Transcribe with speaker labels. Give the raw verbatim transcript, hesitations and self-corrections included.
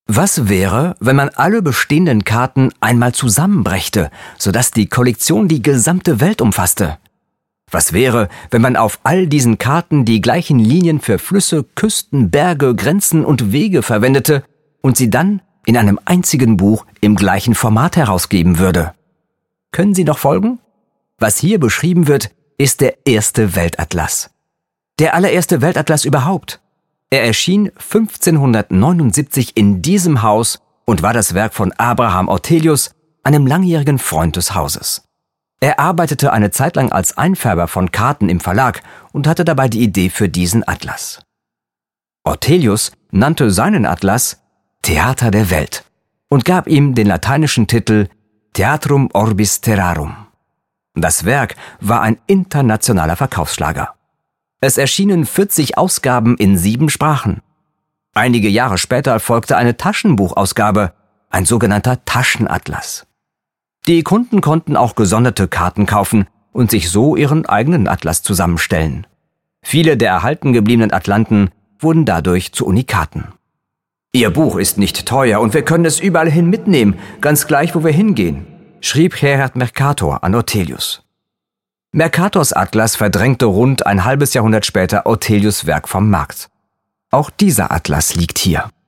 Speaker 1: Was wäre, wenn man alle bestehenden Karten einmal zusammenbrächte, sodass die Kollektion die gesamte Welt umfasste? Was wäre, wenn man auf all diesen Karten die gleichen Linien für Flüsse, Küsten, Berge, Grenzen und Wege verwendete und sie dann in einem einzigen Buch im gleichen Format herausgeben würde? Können Sie noch folgen? Was hier beschrieben wird, ist der erste Weltatlas. Der allererste Weltatlas überhaupt. Er erschien fünfzehnhundertneunundsiebzig in diesem Haus und war das Werk von Abraham Ortelius, einem langjährigen Freund des Hauses. Er arbeitete eine Zeit lang als Einfärber von Karten im Verlag und hatte dabei die Idee für diesen Atlas. Ortelius nannte seinen Atlas Theater der Welt und gab ihm den lateinischen Titel Theatrum Orbis Terrarum. Das Werk war ein internationaler Verkaufsschlager. Es erschienen vierzig Ausgaben in sieben Sprachen. Einige Jahre später folgte eine Taschenbuchausgabe, ein sogenannter Taschenatlas. Die Kunden konnten auch gesonderte Karten kaufen und sich so ihren eigenen Atlas zusammenstellen. Viele der erhalten gebliebenen Atlanten wurden dadurch zu Unikaten. »Ihr Buch ist nicht teuer und wir können es überall hin mitnehmen, ganz gleich, wo wir hingehen«, schrieb Gerhard Mercator an Ortelius. Mercators Atlas verdrängte rund ein halbes Jahrhundert später Ortelius' Werk vom Markt. Auch dieser Atlas liegt hier.